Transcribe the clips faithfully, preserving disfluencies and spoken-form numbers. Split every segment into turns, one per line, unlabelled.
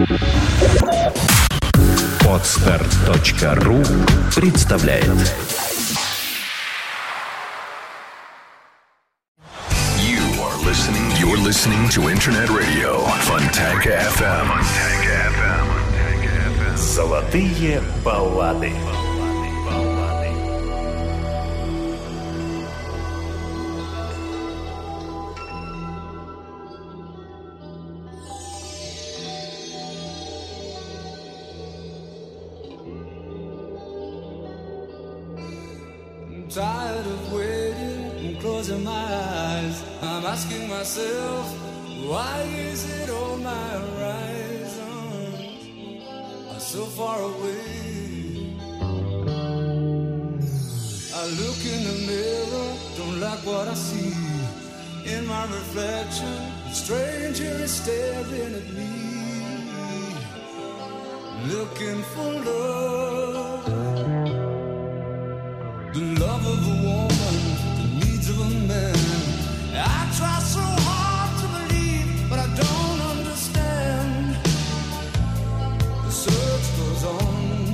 Подстер точка ру представляет.
You are listening. You're listening to Internet Radio Fontanka эф эм.
Золотые баллады.
Tired of waiting and closing my eyes. I'm asking myself, why is it all my horizons are so far away? I look in the mirror, don't like what I see. In my reflection, a stranger is staring at me, looking for love. The love of a woman, the needs of a man. I try so hard to believe, but I don't understand. The search goes on,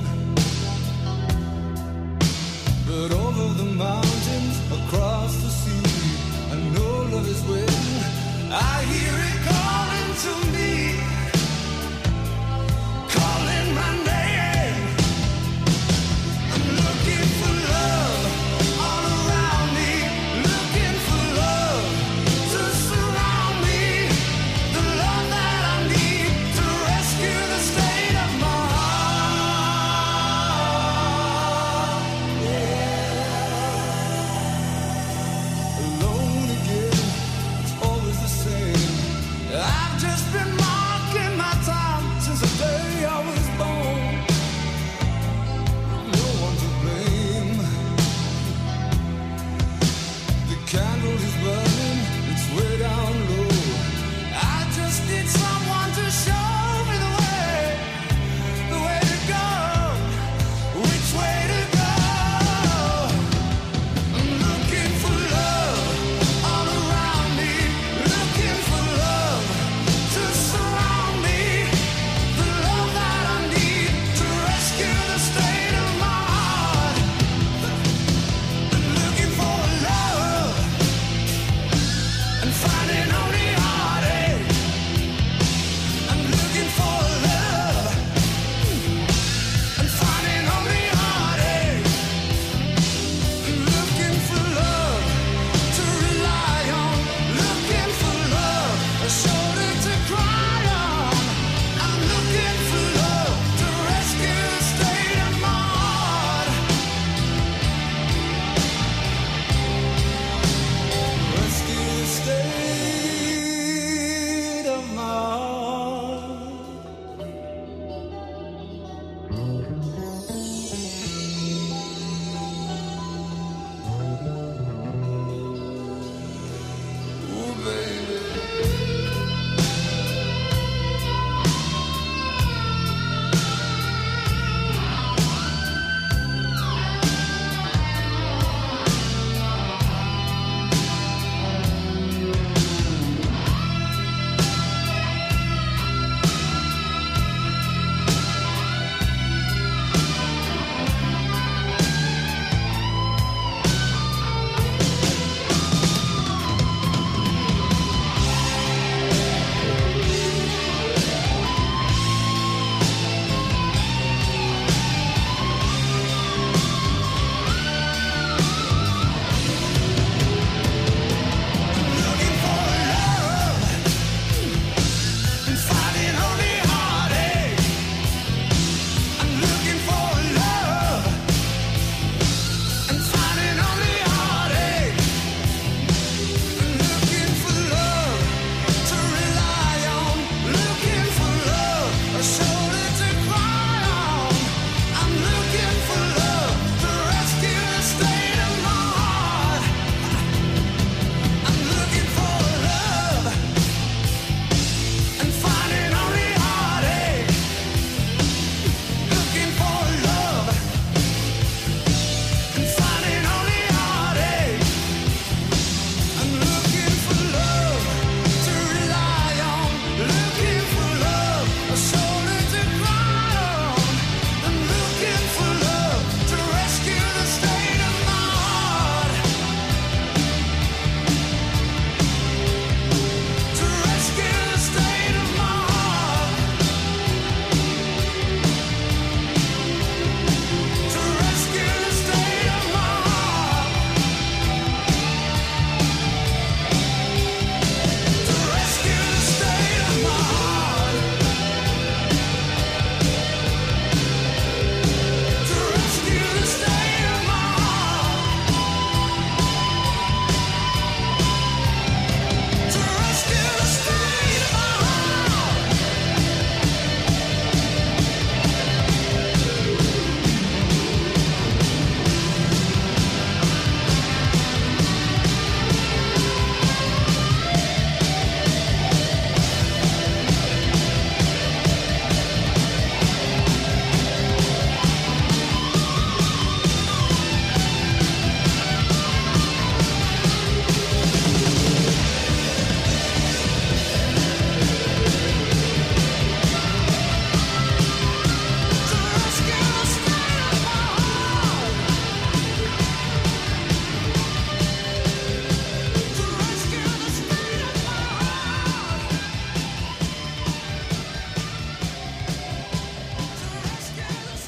but over the mountains, across the sea, I know love is waiting. I hear it calling to me, calling my name. I'm looking for love.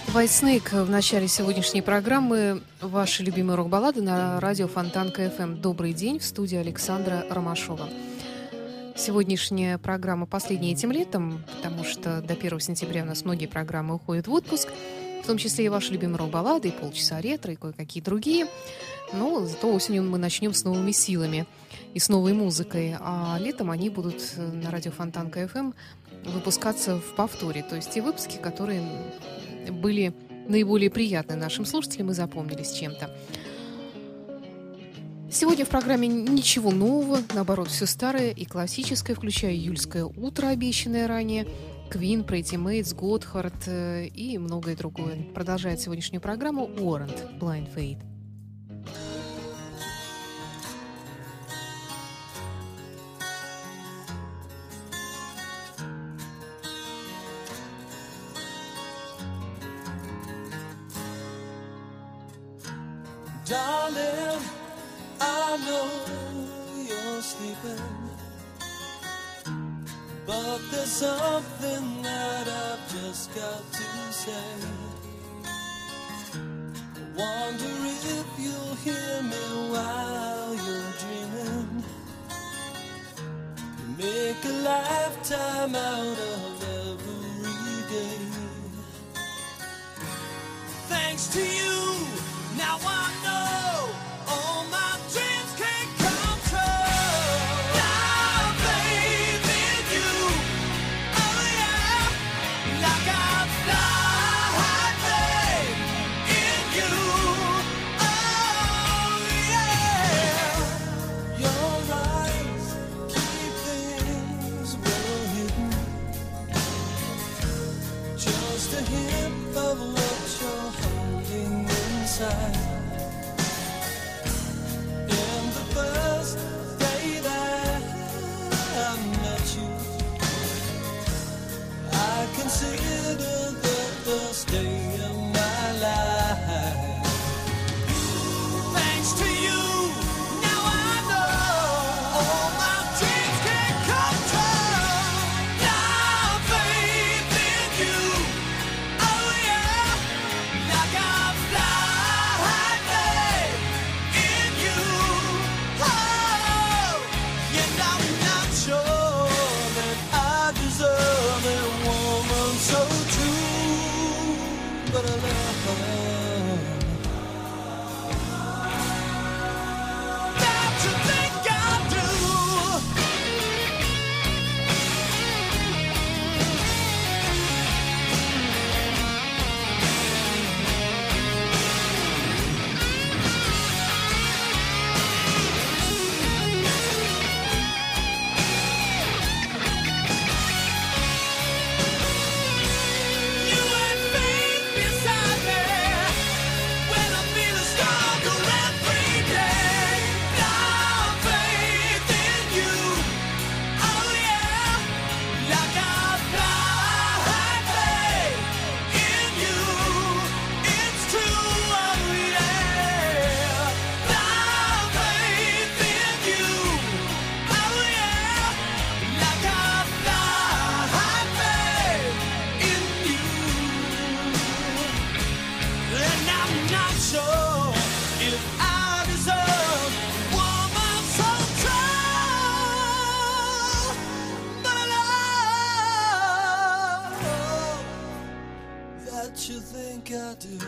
White Snake в начале сегодняшней программы. Ваши любимые рок-баллады на радио Фонтанка эф эм. Добрый день, в студии Александра Ромашова. Сегодняшняя программа последняя этим летом, потому что до первого сентября у нас многие программы уходят в отпуск, в том числе и ваши любимые рок-баллады, и полчаса ретро, и кое-какие другие. Но зато осенью мы начнем с новыми силами и с новой музыкой, а летом они будут на радио Фонтанка эф эм выпускаться в повторе, то есть те выпуски, которые были наиболее приятны нашим слушателям и запомнились чем-то. Сегодня в программе ничего нового, наоборот, все старое и классическое, включая июльское утро, обещанное ранее, Queen, Pretty Mates, Gotthard и многое другое. Продолжает сегодняшнюю программу Warrant, Blind Faith.
Darling, I know you're sleeping, but there's something that I've just got to say. I wonder if you'll hear me while you're dreaming. You make a lifetime out of every day. Thanks to you, now I know all my dreams can come true. Now faith in you, oh yeah, like I fly faith in you, oh yeah. Your eyes keep things well hidden, just a hint of what you're holding inside. In the first day that I met you, I considered the first day of my life. Thanks to you, now I know all my dreams can come true. Now faith in you, oh yeah, like I fly faith in you, oh, and I'm not sure that I deserve a woman so true, but I love her. Don't you think I do? You and faith beside me when I feel stronger every day. Now faith in you, oh yeah, like I fly faith in you. It's true, oh yeah. Now faith in you, oh yeah, like I fly faith in you. And I'm not sure if I deserve woman so true, but I love that you think I do.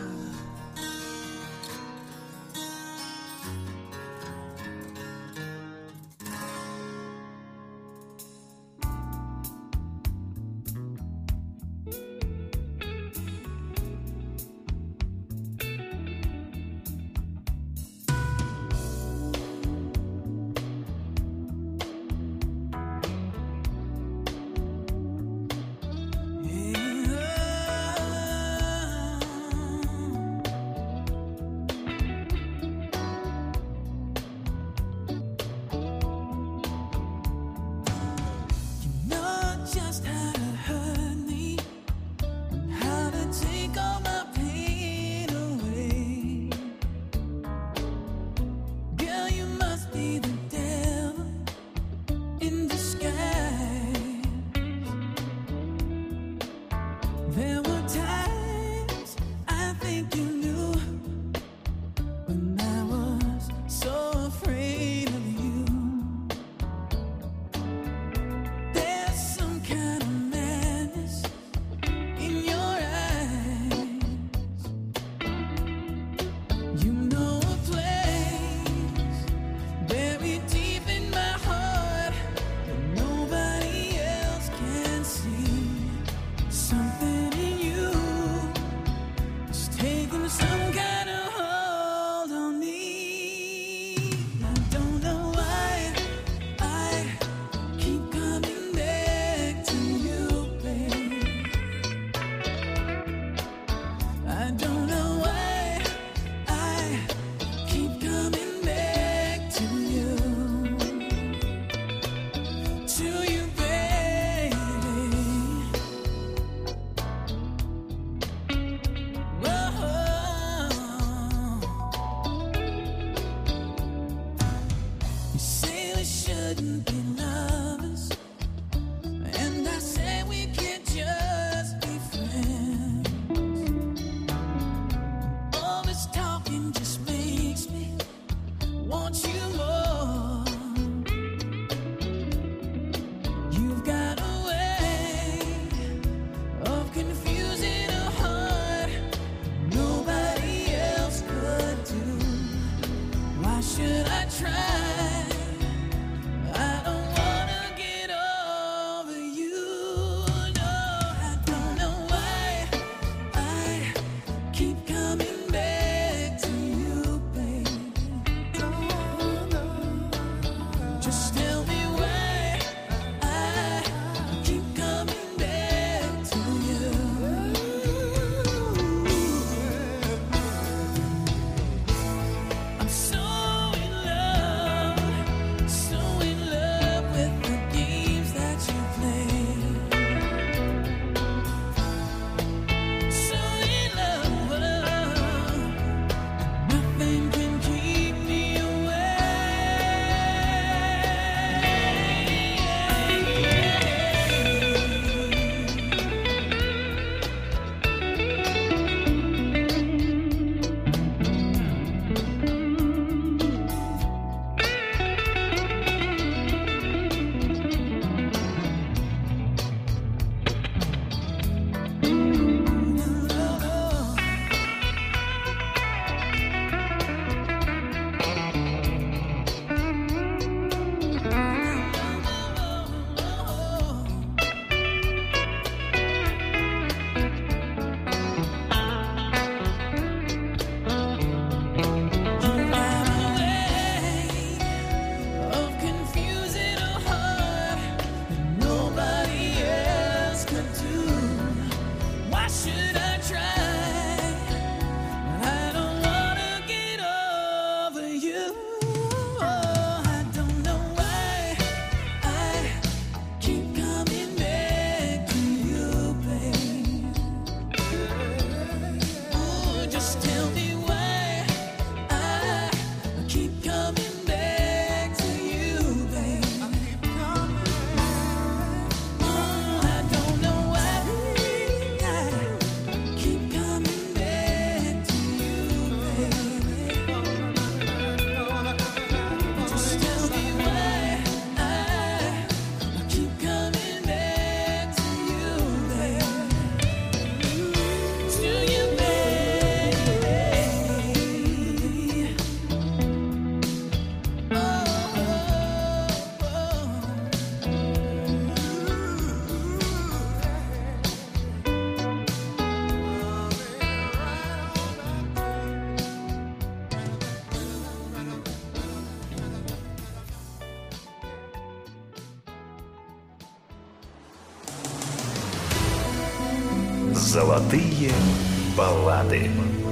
Золотые баллады.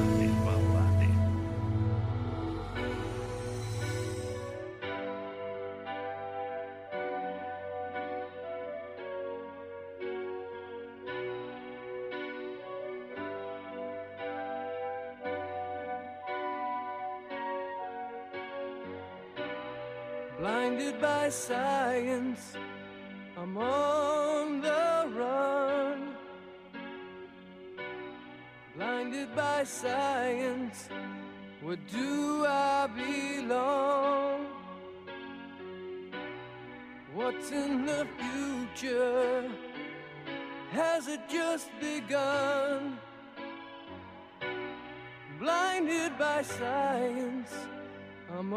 Blinded by science, I'm on the run. Blinded by science, where do I belong? What's in the future? Has it just begun? Blinded by science, I'm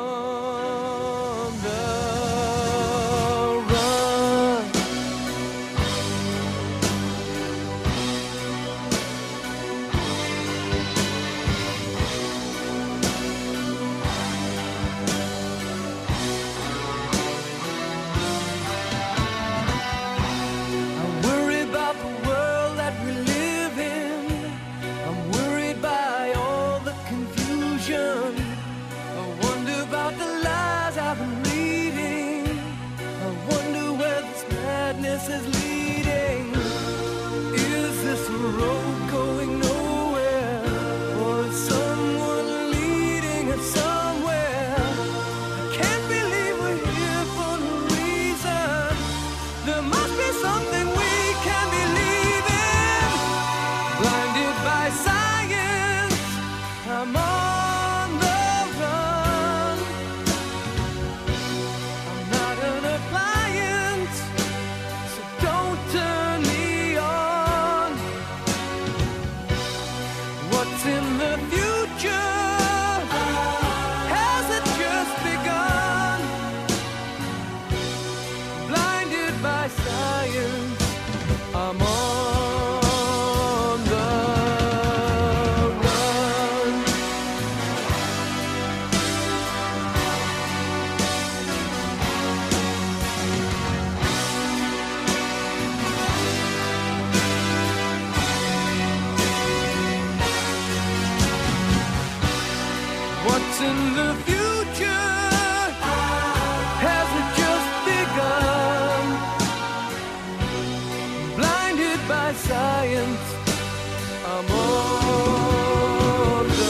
on the run. science. I'm on the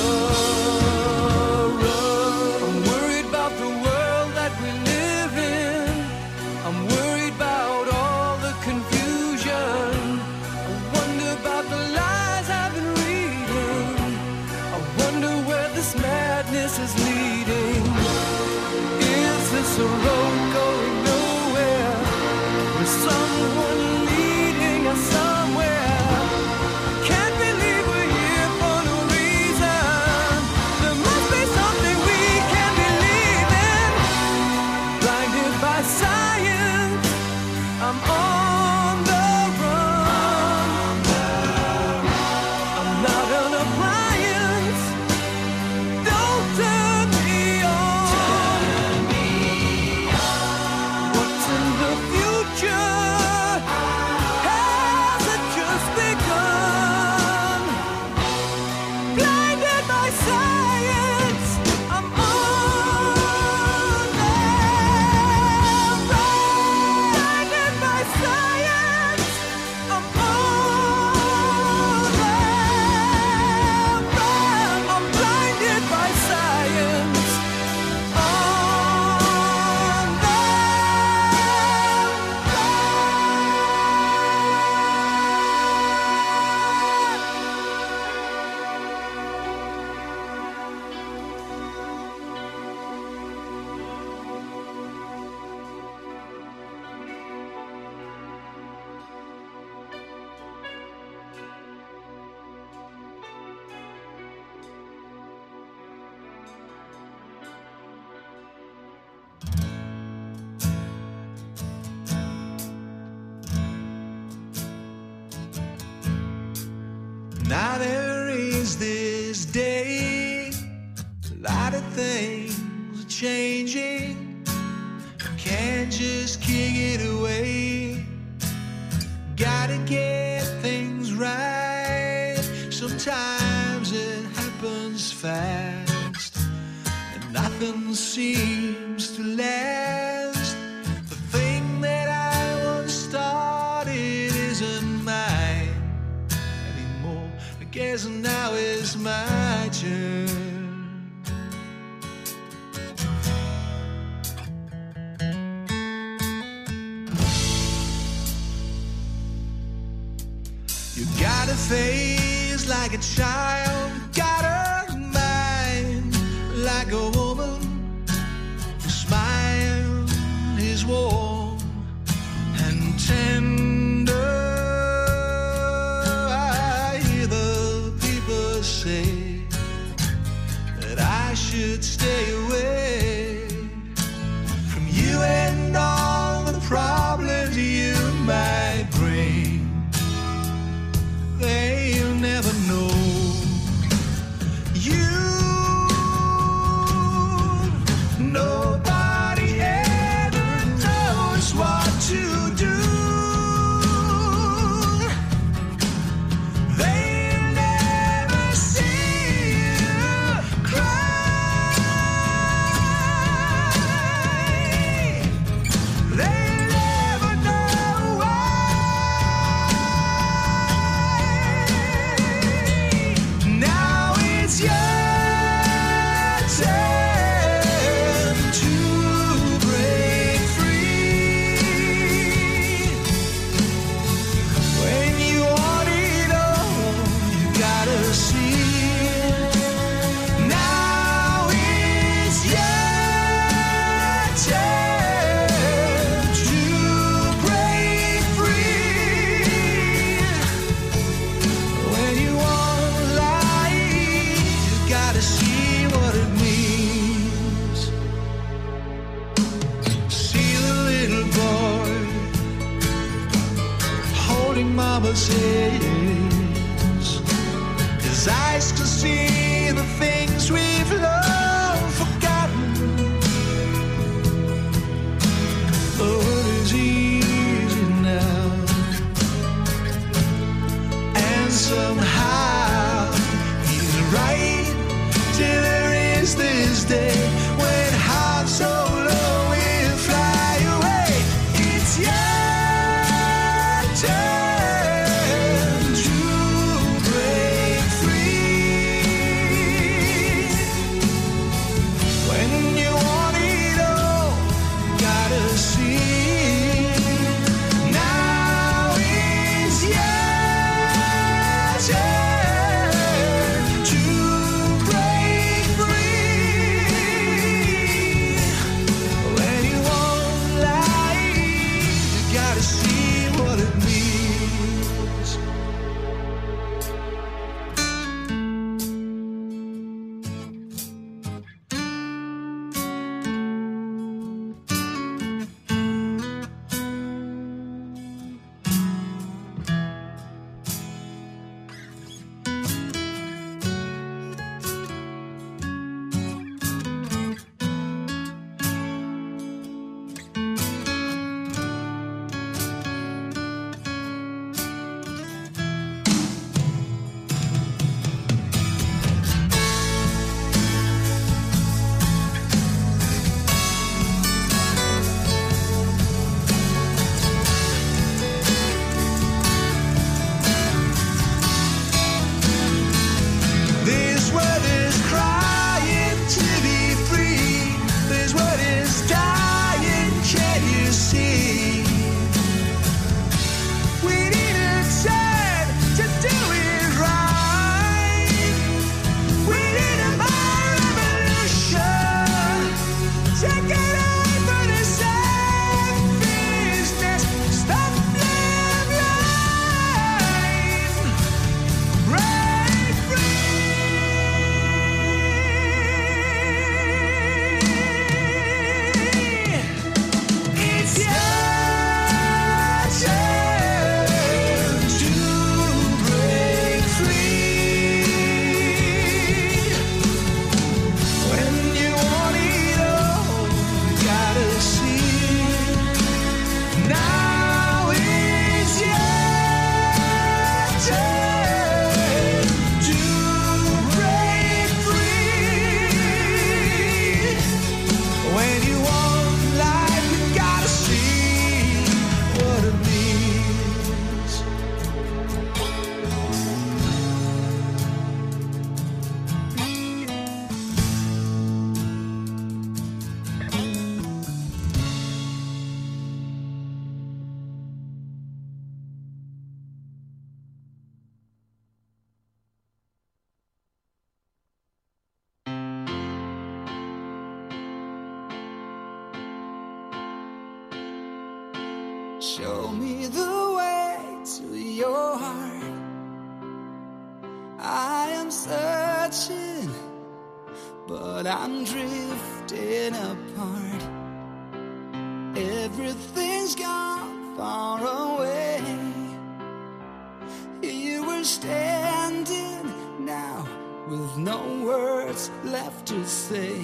run. I'm worried about the world that we live in. I'm worried about all the confusion. I wonder about the lies I've been reading. I wonder where this madness is leading. Is this a road going nowhere? With someone leading us somewhere? Can't believe we're here for no reason. There must be something we can believe in. Blinded by science, I'm on the run. I'm not an appliance. Don't turn me on. What's in the future? Has it just begun? Blinded by science, I'm on the run. Blinded by science, I'm on the run. I'm blinded by science, on the
Now there is this day, a lot of things are changing. Can't just kick it away. Gotta get things right. Sometimes it happens fast, and nothing seems to last. The thing that I once started isn't mine anymore. I guess now is my turn. You got a face like a child, got a mind like a woman. Your smile is warm and tender. I hear the people say that I should stay away from you and all the problems you might bring. They'll never know you. Nobody ever knows what to do. They'll never see you cry. They'll never know why. Now it's your turn to break free. When you want it all, you gotta see. Now it's your turn to break free. When you want light, you gotta see what it means. See the little boy holding mama's hands. His eyes can see the things we've long forgotten. Oh, it is easy now. And somehow he's right till there is this day when hearts so low will fly away. It's your turn show me the way to your heart. I am searching, but I'm drifting apart. Everything's gone far away. You were standing now with no words left to say.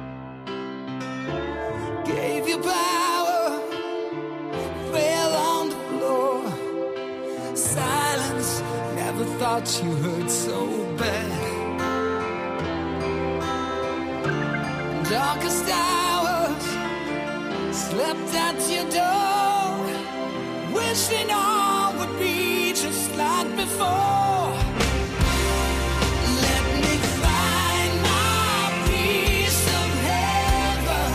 Gave you power, fell on the floor. Silence, never thought you hurt so bad. Darkest hours, slept at your door, wishing all would be just like before. Let me find my piece of heaven.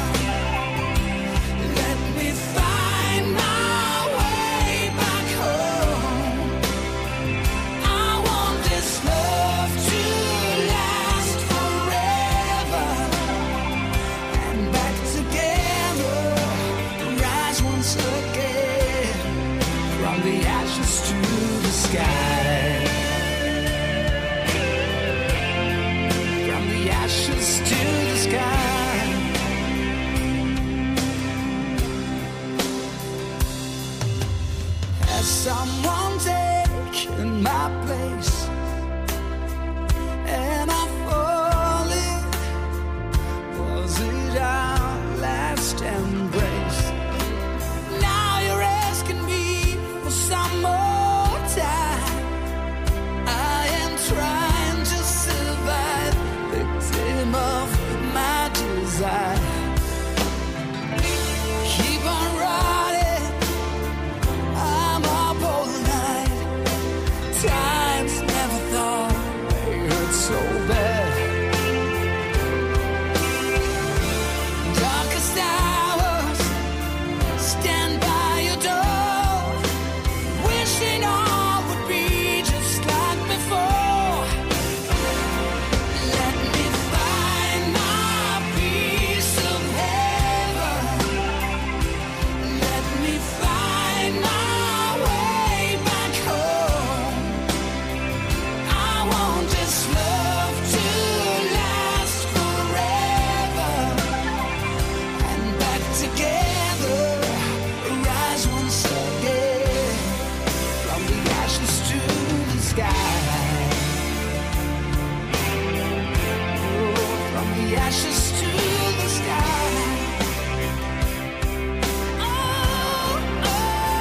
Let me find my way back home. I want this love to last forever. And back together, rise once again, from the ashes to the sky. From the ashes to the sky. Has someone taken my place? And I fallen. Was it our last embrace? Now you're asking me for some more time. I am trying to survive, victim of my desire. Keep on riding, I'm up all night. Times never thought they hurt so bad. Darkest hours, stand by your door, wishing all would be just like before. Let me find my piece of heaven. Let me find my way back home. I want this love to last forever. And back together, rise once again, from the ashes to the sky. Oh, from the ashes to the sky. Oh, oh.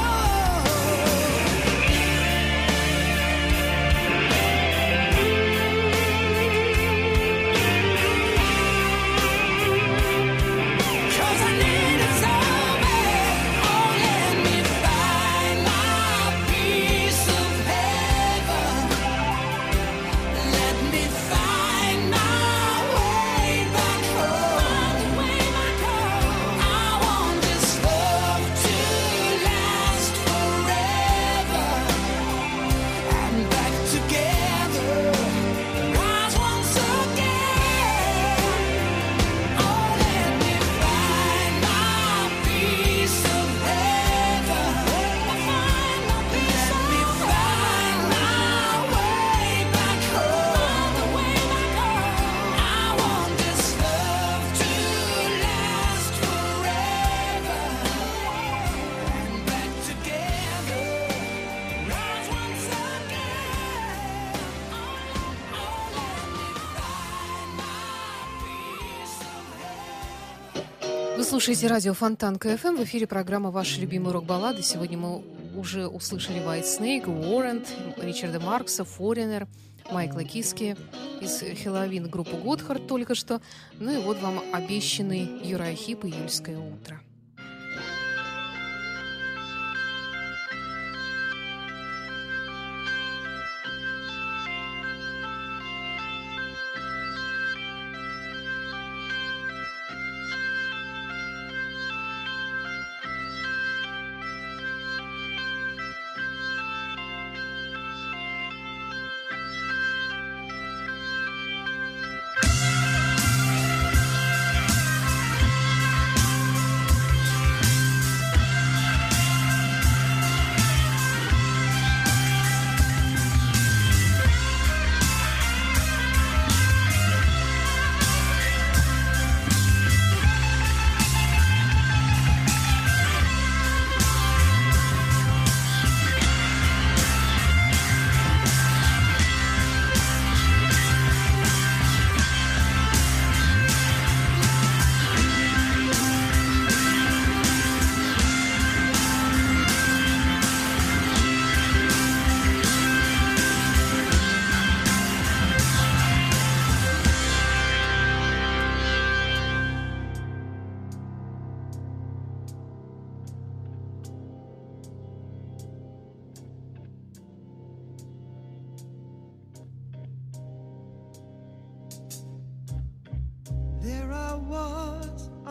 'Cause I need it so bad. Oh, let me find my piece of heaven. Let me find my way back home. I want this love to last forever. And back together, rise once again. Oh, let me find my piece of heaven. Let me find my way back home. I want this love to last forever. And back together, rise once again. Oh, let me find my piece of heaven.
Вы слушаете радио Фонтан КФМ. В эфире программа «Ваши любимые рок-баллады». Сегодня мы уже услышали White Snake, Warrant, Ричарда Маркса, Foreigner, Майкла Киски, из Хеллоуин группу Готхард только что. Ну и вот вам обещанный Юрай Хип «Июльское утро».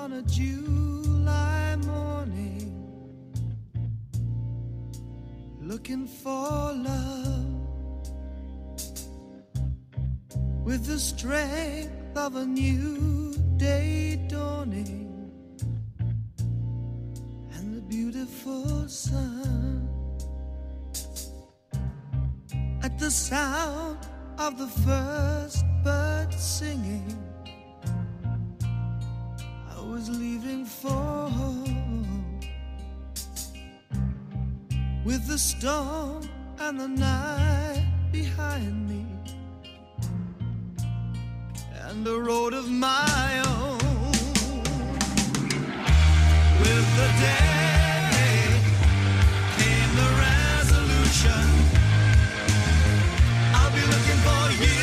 on a July morning, looking for love with the strength of a new day dawning and the beautiful sun. At the sound of the first bird singing, I was leaving for home with the storm and the night behind me and a road of my own. With the day came the resolution, I'll be looking for you.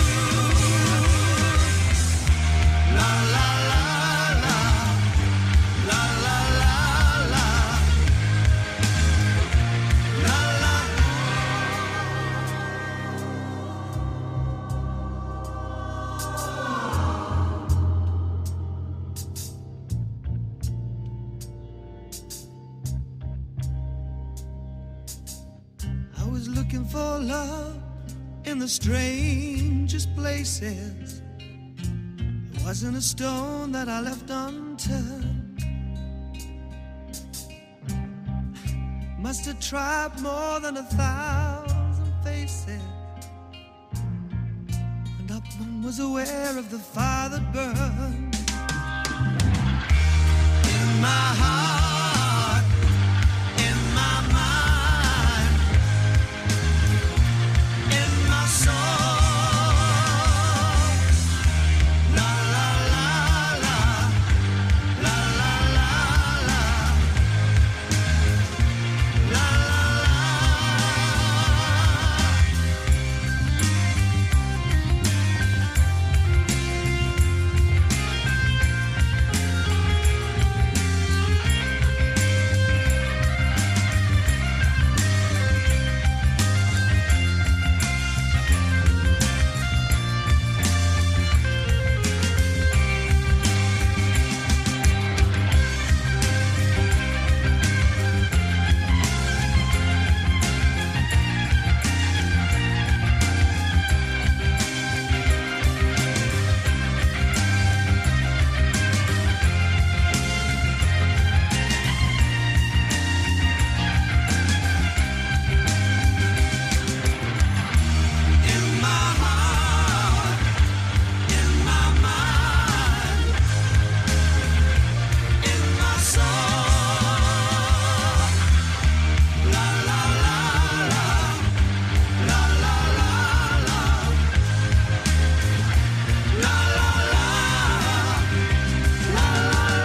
La la la la, la la la la, la la. I was looking for love in the strangest places. It wasn't a stone that I left unturned. Must have tried more than a thousand faces, and not one was aware of the fire that burned in my heart, in my mind, in my soul. La la la la, la la la la, la la la. In my heart, in my mind, in my soul. La la la la, la la la la, la la la, la la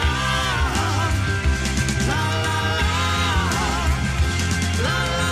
la, la la la, la la.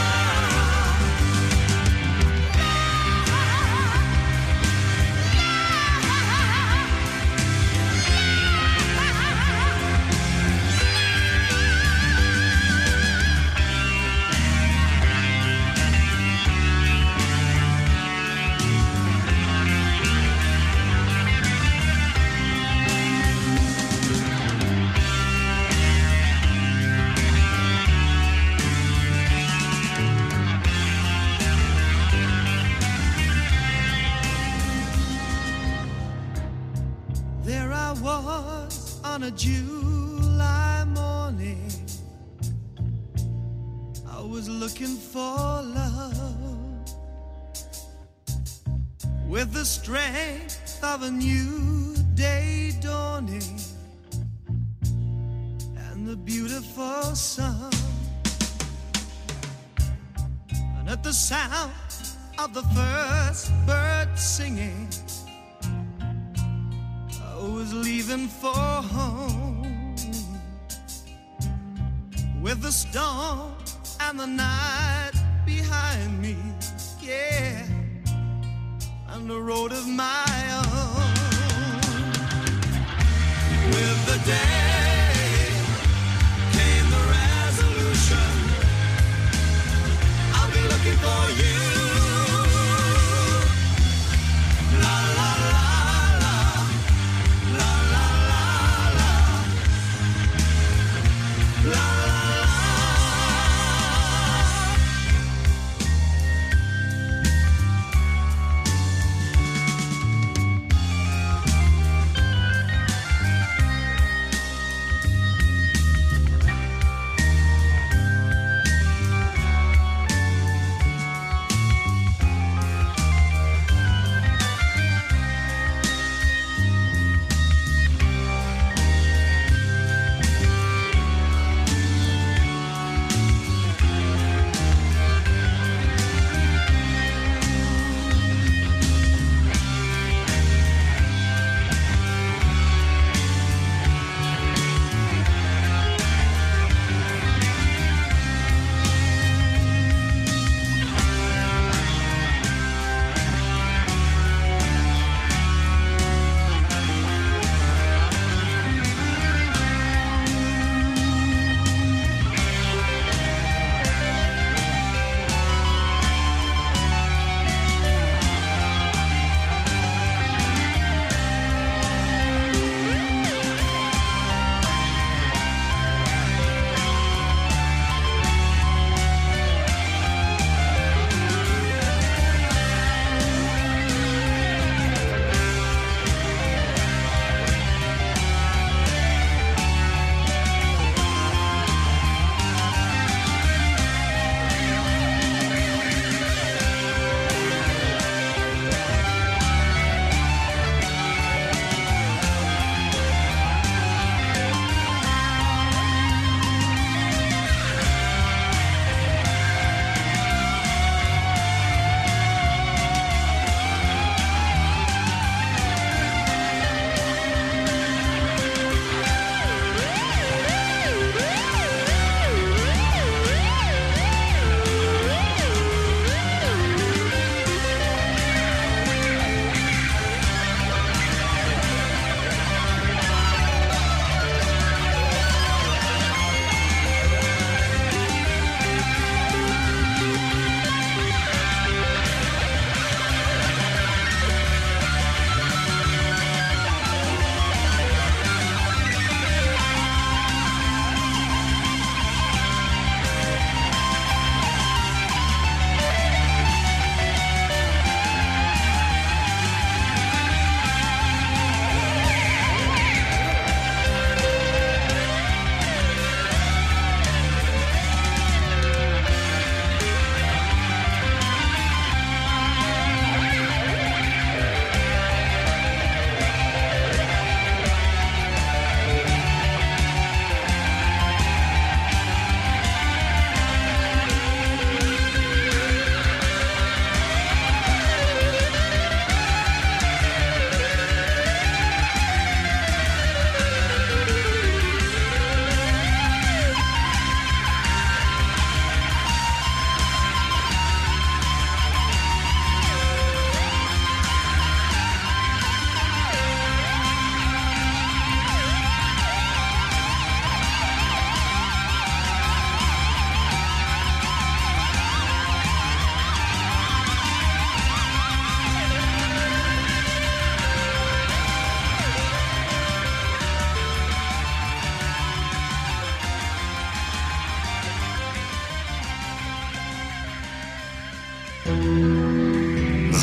There I was on a July morning, I was looking for love with the strength of a new day dawning and the beautiful sun. And at the sound of the first bird singing, I was leaving for home with the storm and the night behind me, yeah, and the road of my own. With the day came the resolution, I'll be looking for you. La la la la, la la la la.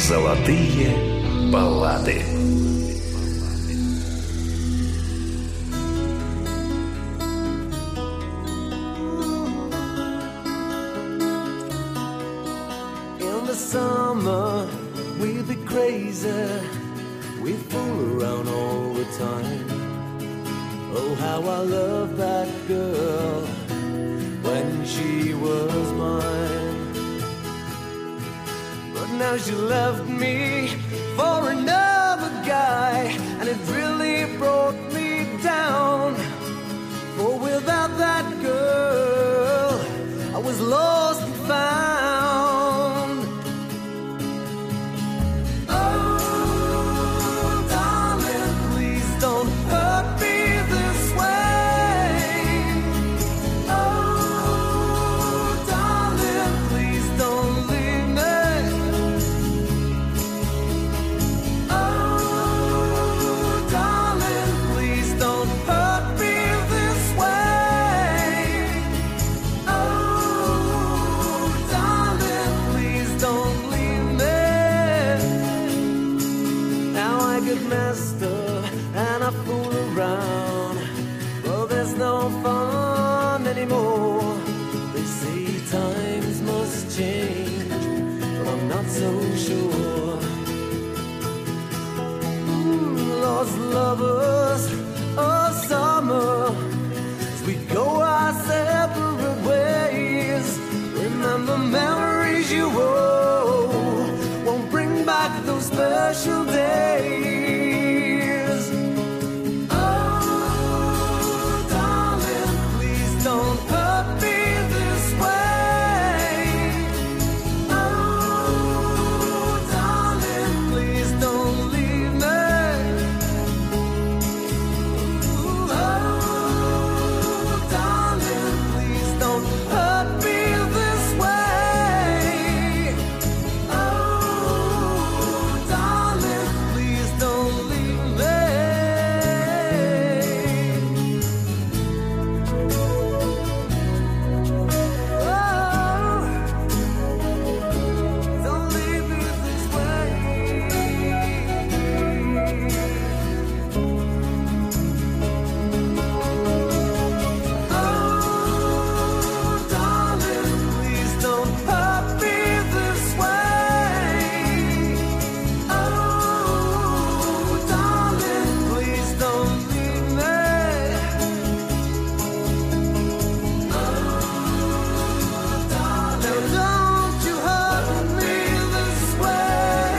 Золотые баллады.
In the summer, we'll be crazy. We fool around all the time. Oh, how I love that girl when she was mine. But now she left me for another guy, and it really brought me down. For without that girl, I was lost and found. Oh, darling, please don't hurt me this way. Oh, darling, please don't leave me. Oh, darling, please don't hurt me this way. Oh, darling, please don't leave me. Now I get messed up and I fool around. Well, there's no fun anymore. They say times must change, but I'm not so sure. Mm, lost lovers, oh summer, as we go our separate ways. Remember memories you owe, won't bring back those special days. Oh, darling, please don't hurt me this way. Oh, darling, please don't leave me. Oh, darling, please don't hurt me this way. Oh, darling, please don't leave me. Oh, don't leave me this way. Oh, darling, please don't hurt me this way. Oh, darling, please don't leave me. Oh, darling, don't you hurt me this way.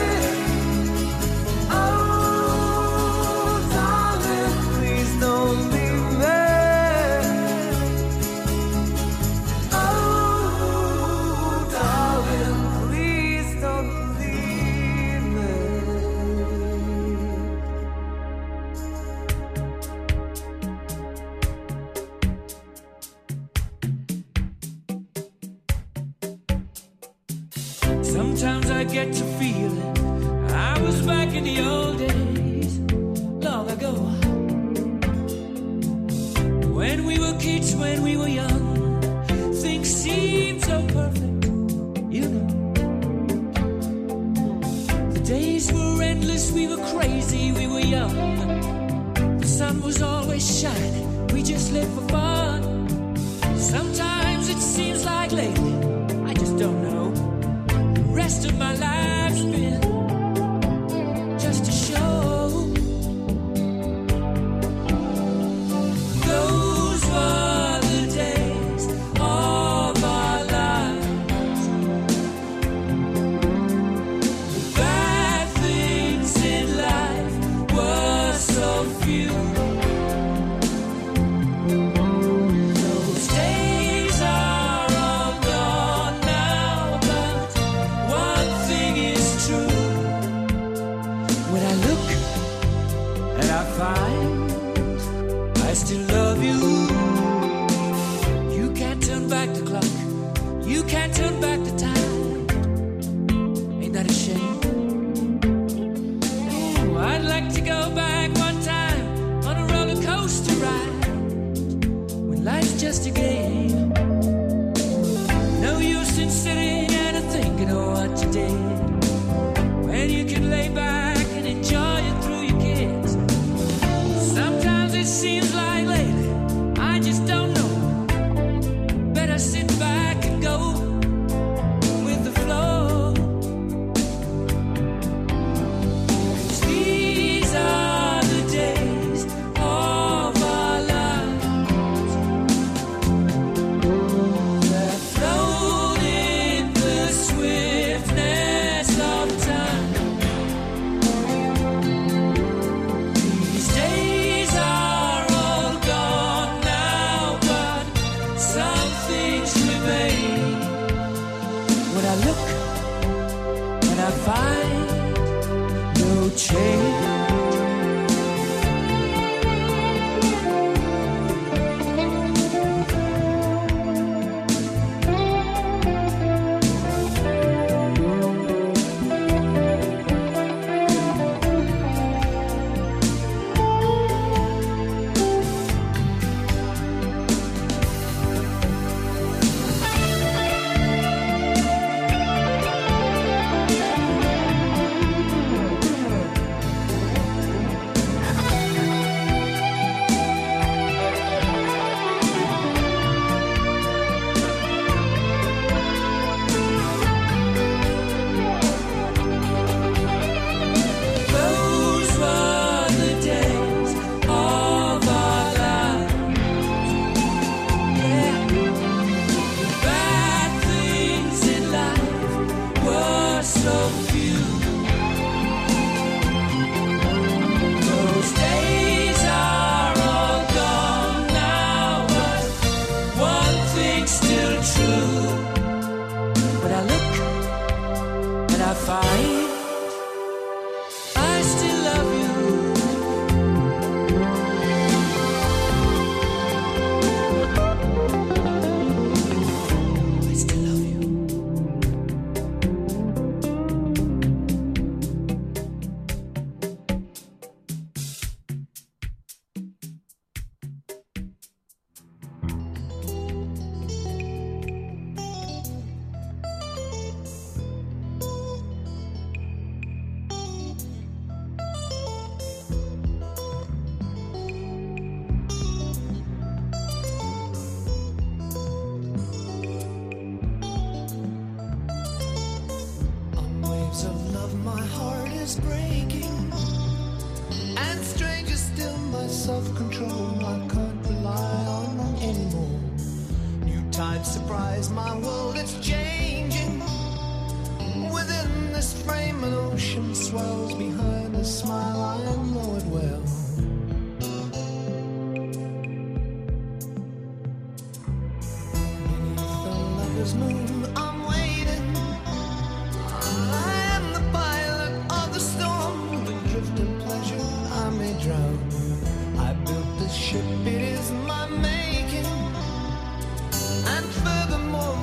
Oh, darling, please don't leave me. Oh, darling, please don't leave me.
Sometimes I get to feeling I was back in the old days, long ago. When we were kids, when we were young, things seemed so perfect, you know. The days were endless, we were crazy, we were young. The sun was always shining, we just lived for fun. Sometimes it seems like lately, I just don't know. The rest of my life's been just a show. Those were the days of our lives. The bad things in life were so few. Those days are all gone now, but one thing is true. When I look and I find I still love you, you can't turn back the clock, you can't turn back the time. Ain't that a shame? Ooh, I'd like to go back one time on a roller coaster ride when life's just a game. No use in sitting and thinking of what you did when find no change.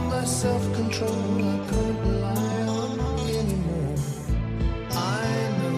Self-control I can't rely on anymore. I know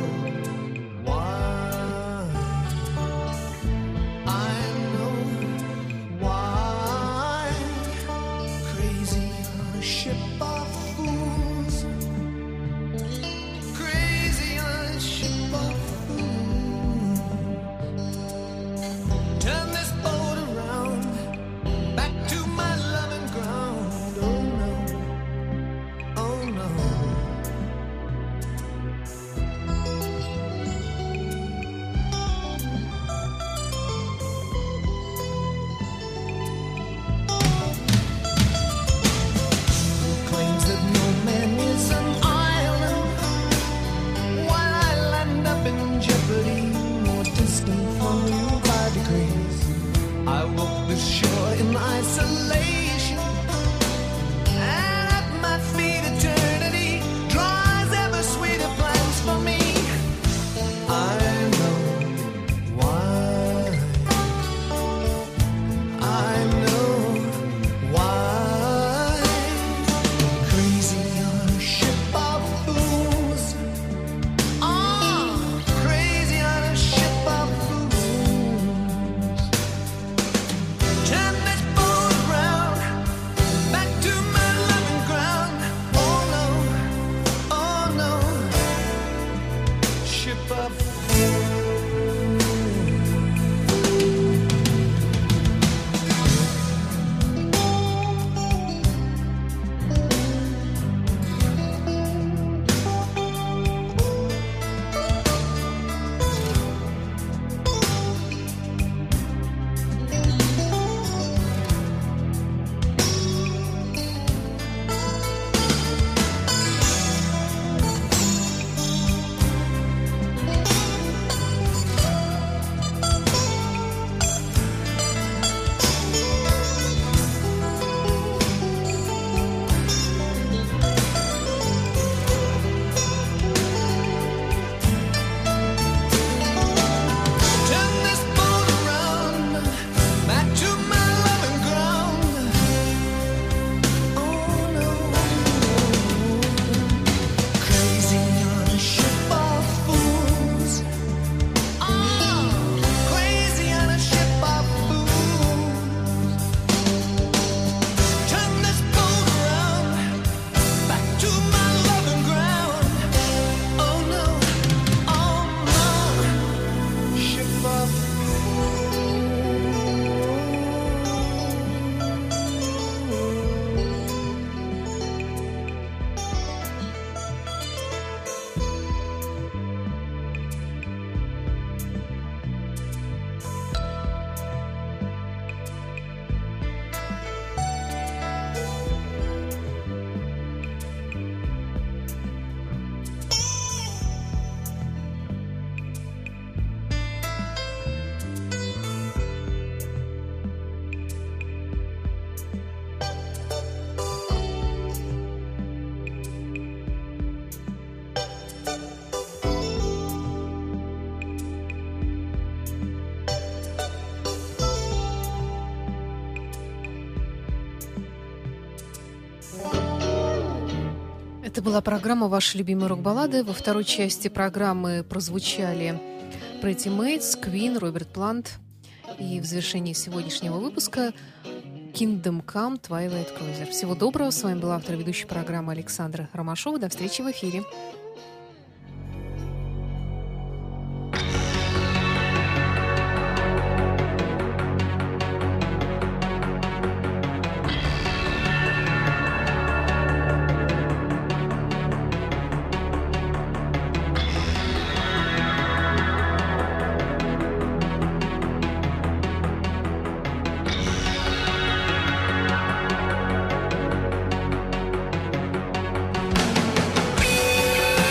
была программа «Ваши любимые рок-баллады». Во второй части программы прозвучали Pretty Mates, Queen, Роберт Плант. И в завершении сегодняшнего выпуска Kingdom Come, Twilight Cruiser. Всего доброго. С вами была автор ведущей программы Александра Ромашова. До встречи в эфире.
Thank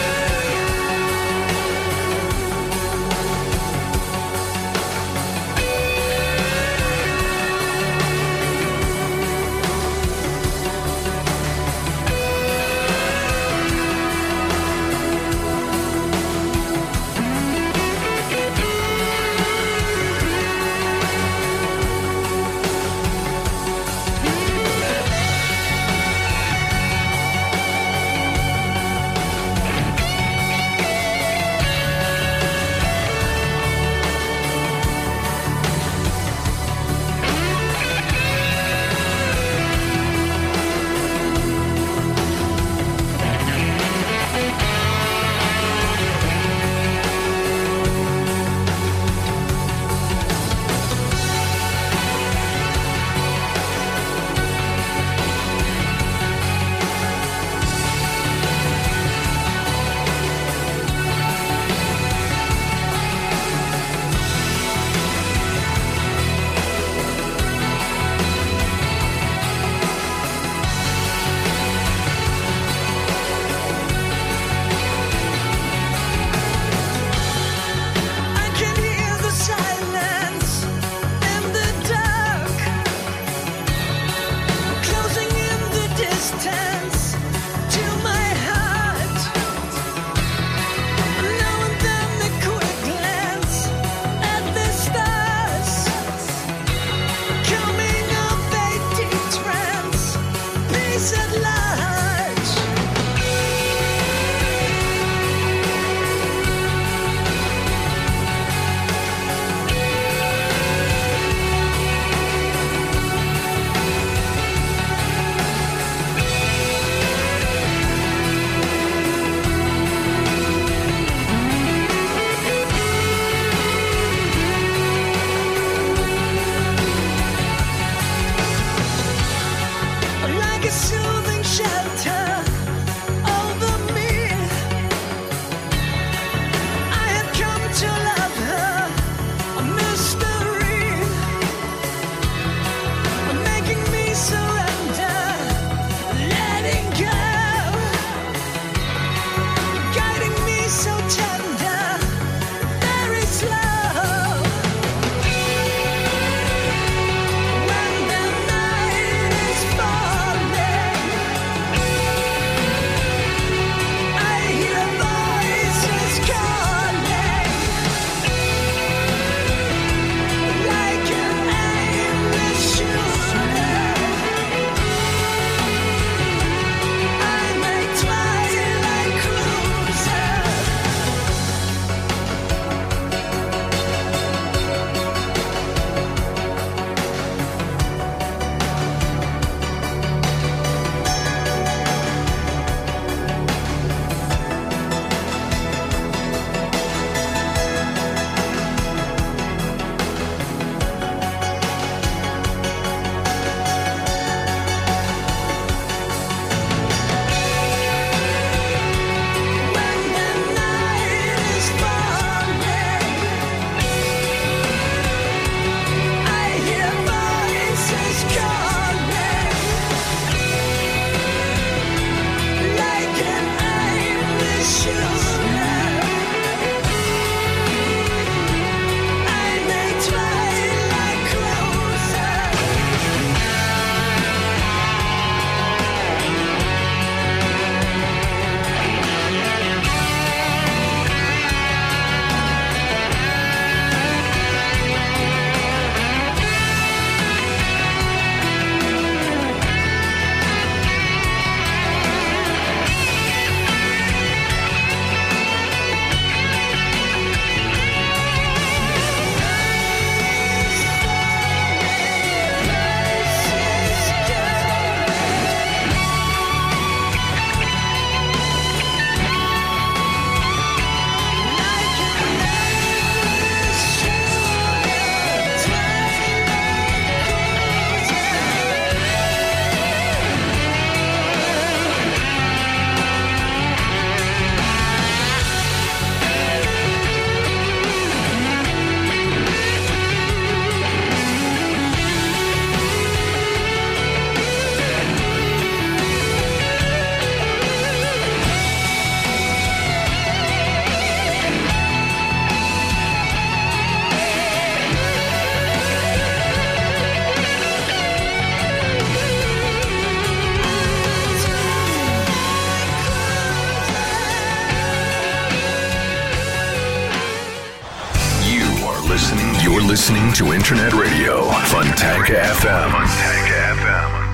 You're listening to Internet Radio Fontanka эф эм. Fontanka эф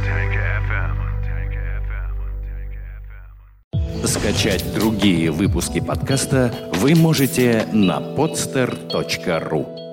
эм.
Скачать другие выпуски подкаста вы можете на podster точка ру.